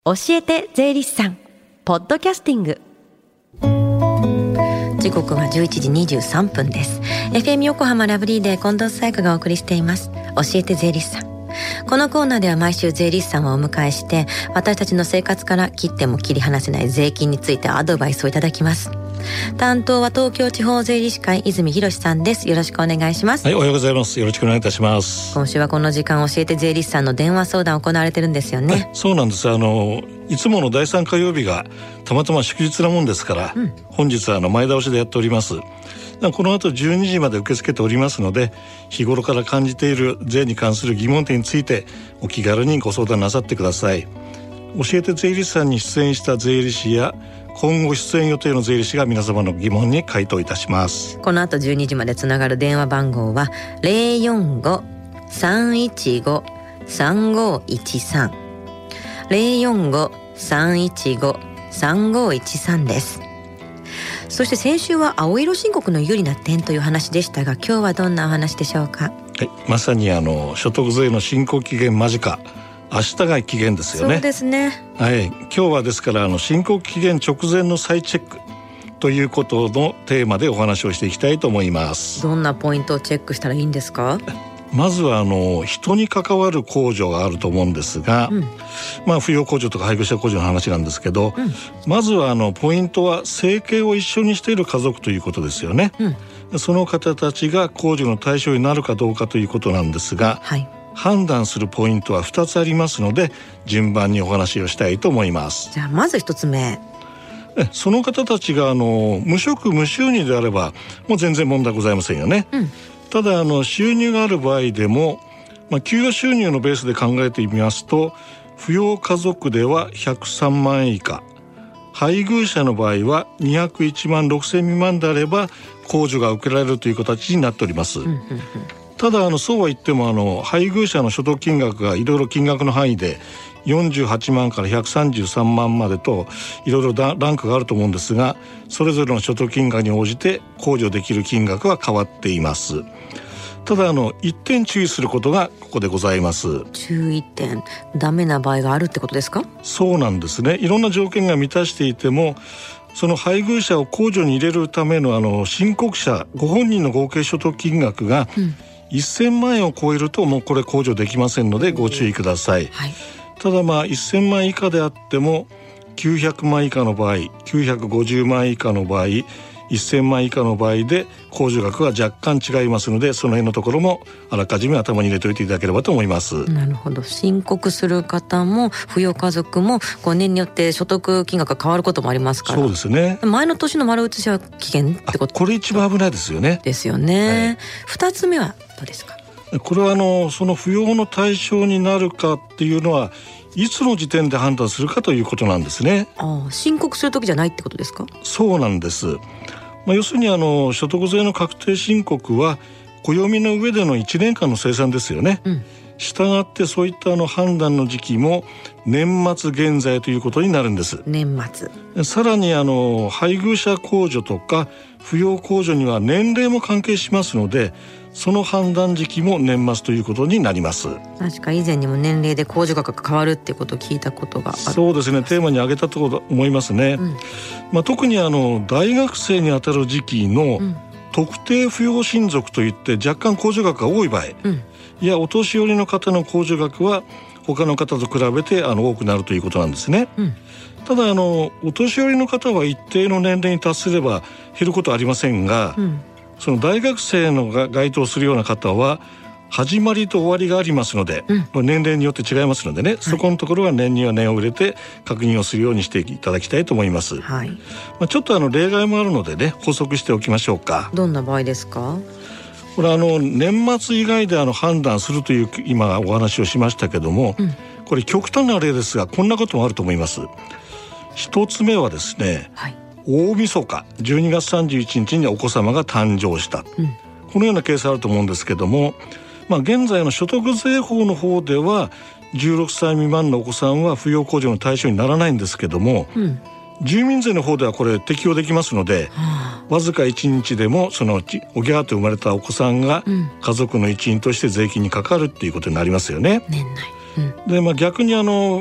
教えて税理士さんポッドキャスティング。時刻は11時23分です。 FM 横浜ラブリーで近藤紗友香がお送りしています教えて税理士さん。このコーナーでは毎週税理士さんをお迎えして、私たちの生活から切っても切り離せない税金についてアドバイスをいただきます。担当は東京地方税理士会泉博さんです。よろしくお願いします。 はい、おはようございます。よろしくお願いいたします。 今週はこの時間教えて税理士さんの電話相談行われてるんですよね。 そうなんです。いつもの第3火曜日がたまたま祝日なもんですから、本日は前倒しでやっております。この後12時まで受け付けておりますので、日頃から感じている税に関する疑問点についてお気軽にご相談なさってください。教えて税理士さんに出演した税理士や今後出演予定の税理士が皆様の疑問に回答いたします。 この後12時までつながる電話番号は 045-315-3513 045-315-3513 です。そして先週は青色申告の有利な点という話でしたが、今日はどんなお話でしょうか。 はい、まさに所得税の申告期限間近、明日が期限ですよね。 そうですね。 はい、今日はですから申告期限直前の再チェックということのテーマでお話をしていきたいと思います。 どんなポイントをチェックしたらいいんですか。 まずは人に関わる控除があると思うんですが、扶養控除とか配偶者控除の話なんですけど、まずはポイントは生計を一緒にしている家族ということですよね。その方たちが控除の対象になるかどうかということなんですが、判断するポイントは2つありますので、順番にお話をしたいと思います。 じゃあまず1つ目、 その方たちが無職無収入であればもう全然問題ございませんよね。ただ収入がある場合でも、給与収入のベースで考えてみますと、扶養家族では103万円以下、配偶者の場合は201万6千未満であれば控除が受けられるという形になっております。ただそうは言っても配偶者の所得金額がいろいろ金額の範囲で48万から133万までといろいろランクがあると思うんですが、それぞれの所得金額に応じて控除できる金額は変わっています。ただ一点注意することがここでございます。 注意点、ダメな場合があるってことですか。 そうなんですね。いろんな条件が満たしていても、その配偶者を控除に入れるための申告者ご本人の合計所得金額が1000万円を超えるともうこれ控除できませんのでご注意ください。ただ1000万以下であっても900万以下の場合、950万以下の場合、1000万以下の場合で控除額は若干違いますので、その辺のところもあらかじめ頭に入れておいていただければと思います。 なるほど。申告する方も扶養家族も年によって所得金額が変わることもありますから。 そうですね。 前の年の丸写しは期限ってこと。 これ一番危ないですよね。 ですよね。2つ目はどうですか。 これはその扶養の対象になるかっていうのはいつの時点で判断するかということなんですね。 申告する時じゃないってことですか。 そうなんです。要するに所得税の確定申告は暦の上での1年間の生産ですよね。したがってそういった判断の時期も年末現在ということになるんです。 年末。 さらに配偶者控除とか扶養控除には年齢も関係しますので、その判断時期も年末ということになります。 確か以前にも年齢で控除額が変わるっていうことを聞いたことがある。 そうですね。テーマに挙げたと思いますね。特に大学生にあたる時期の特定扶養親族といって若干控除額が多い場合、いやお年寄りの方の控除額は他の方と比べて多くなるということなんですね。ただお年寄りの方は一定の年齢に達すれば減ることはありませんが、その大学生のが該当するような方は始まりと終わりがありますので、年齢によって違いますのでね、そこのところは念には念を入れて確認をするようにしていただきたいと思います。ちょっと例外もあるのでね、補足しておきましょうか。 どんな場合ですか。 これ年末以外で判断するという今お話をしましたけども、これ極端な例ですがこんなこともあると思います。一つ目はですね、大晦日12月31日にお子様が誕生した、このようなケースあると思うんですけども、現在の所得税法の方では16歳未満のお子さんは扶養控除の対象にならないんですけども、住民税の方ではこれ適用できますので、わずか1日でもそのおぎゃーと生まれたお子さんが家族の一員として税金にかかるっていうことになりますよね。 年内。 で、逆に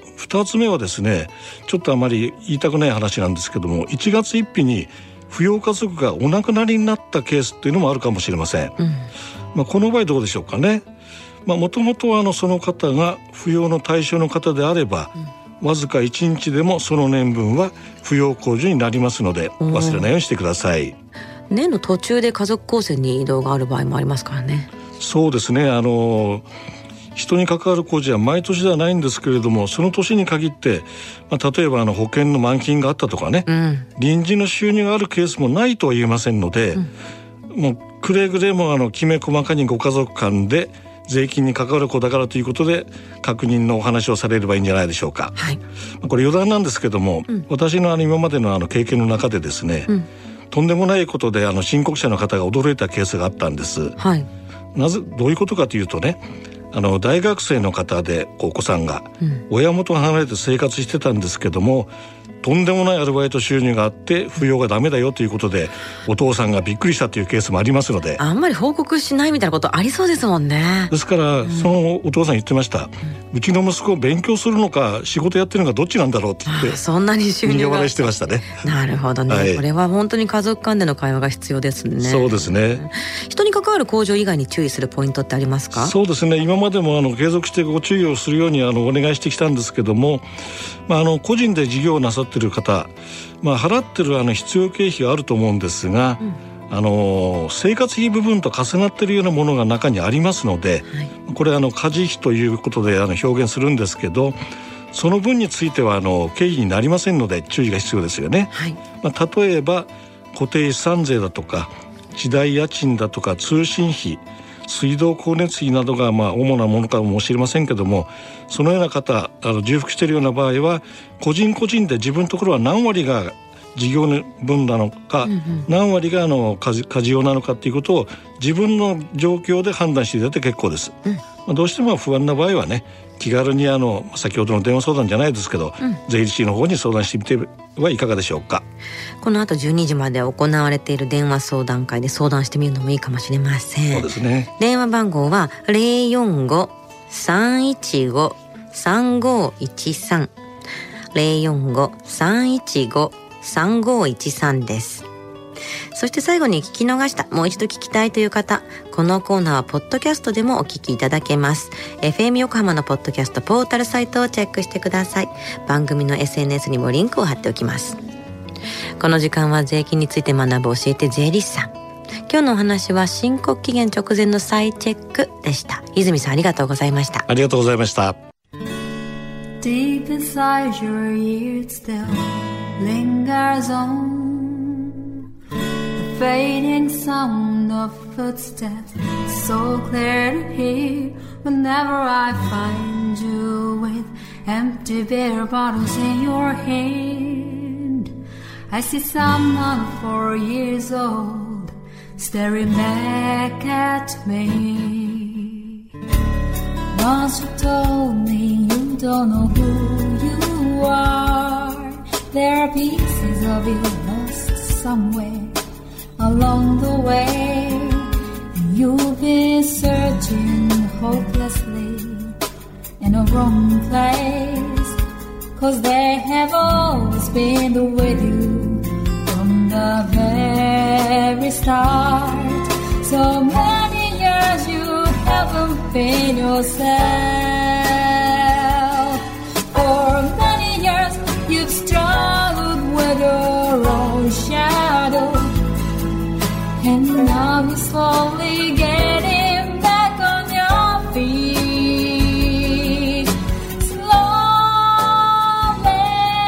2つ目はですね、ちょっとあまり言いたくない話なんですけども、1月1日に扶養家族がお亡くなりになったケースっていうのもあるかもしれません。この場合どうでしょうかね。もともとはその方が扶養の対象の方であれば、わずか1日でもその年分は扶養控除になりますので、忘れないようにしてください。 年の途中で家族構成に移動がある場合もありますからね。そうですね、 人に関わる控除は毎年ではないんですけれども、その年に限って、例えば保険の満金があったとかね、臨時の収入があるケースもないとは言えませんので、もうくれぐれもきめ細かにご家族間で税金に関わる子だからということで確認のお話をされればいいんじゃないでしょうか。これ余談なんですけども、私の今までの経験の中でですね、とんでもないことで申告者の方が驚いたケースがあったんです。どういうことかというとね、大学生の方でお子さんが親元が離れて生活してたんですけども、とんでもないアルバイト収入があって扶養がダメだよということでお父さんがびっくりしたというケースもありますので、 あんまり報告しないみたいなことありそうですもんね。 ですから、そのお父さん言ってました、うちの息子勉強するのか仕事やってるのかどっちなんだろうって言ってそんなに収入が苦笑いしてましたね。 なるほどね、これは本当に家族間での会話が必要ですね。 そうですね。 人に関わる控除以外に注意するポイントってありますか？ そうですね、今までも継続してご注意をするようにお願いしてきたんですけども、個人で事業をなさっている方、払ってる必要経費があると思うんですが、生活費部分と重なっているようなものが中にありますので、これ家事費ということで表現するんですけど、その分については経費になりませんので注意が必要ですよね。例えば固定資産税だとか地代家賃だとか通信費、水道光熱費などが主なものかもしれませんけども、そのような方重複しているような場合は個人個人で自分のところは何割が事業分なのか、何割が家事用なのかということを自分の状況で判断していただいて結構です。どうしても不安な場合はね、気軽に先ほどの電話相談じゃないですけど、税理士の方に相談してみてはいかがでしょうか。 この後12時まで行われている電話相談会で相談してみるのもいいかもしれません。 そうですね。 電話番号は 045-315-3513 045-315-3513 です。そして最後に聞き逃した、もう一度聞きたいという方、このコーナーはポッドキャストでもお聞きいただけます。 FM 横浜のポッドキャストポータルサイトをチェックしてください。番組の SNS にもリンクを貼っておきます。この時間は税金について学ぶ教えて税理士さん。今日のお話は申告期限直前の再チェックでした。泉さん、ありがとうございました。 ありがとうございました。 Deep inside your ears still lingers on the fading sound of footsteps, so clear to hear whenever I find you with empty beer bottles in your hand. I see someone 4 years old staring back at me. Once you told me you don't know who you are. There are pieces of you lost somewhere along the way, and you've been searching hopelessly in a wrong place, 'cause they have always been with you from the very start. So many years you haven't been yourself. For many years you've struggled with your own shadow, and now you're slowly getting back on your feet. Slowly,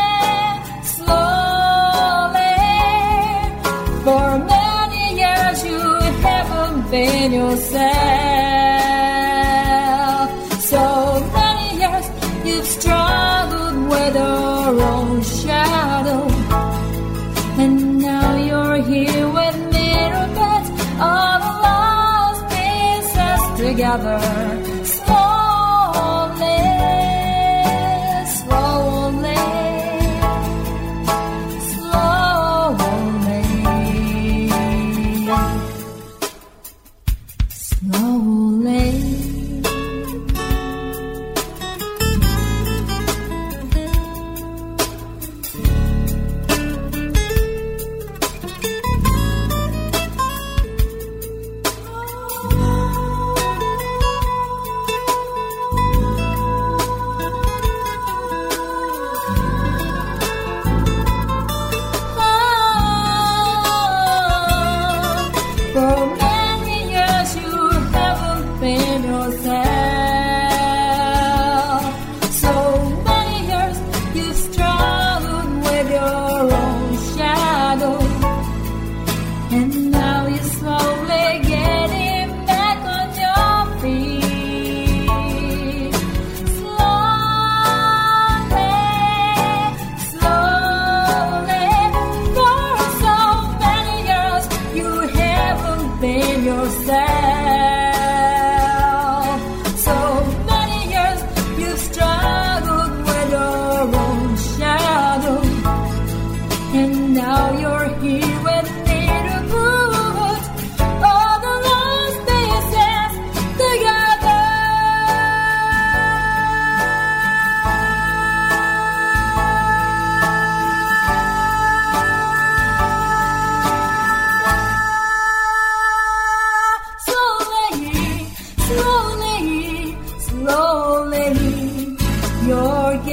slowly. For many years you haven't been yourself. So many years you've struggled with your own shadow, and now you're here with all the lost pieces together. Slowly, slowly, slowly, slowly.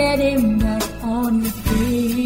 getting back on your feet.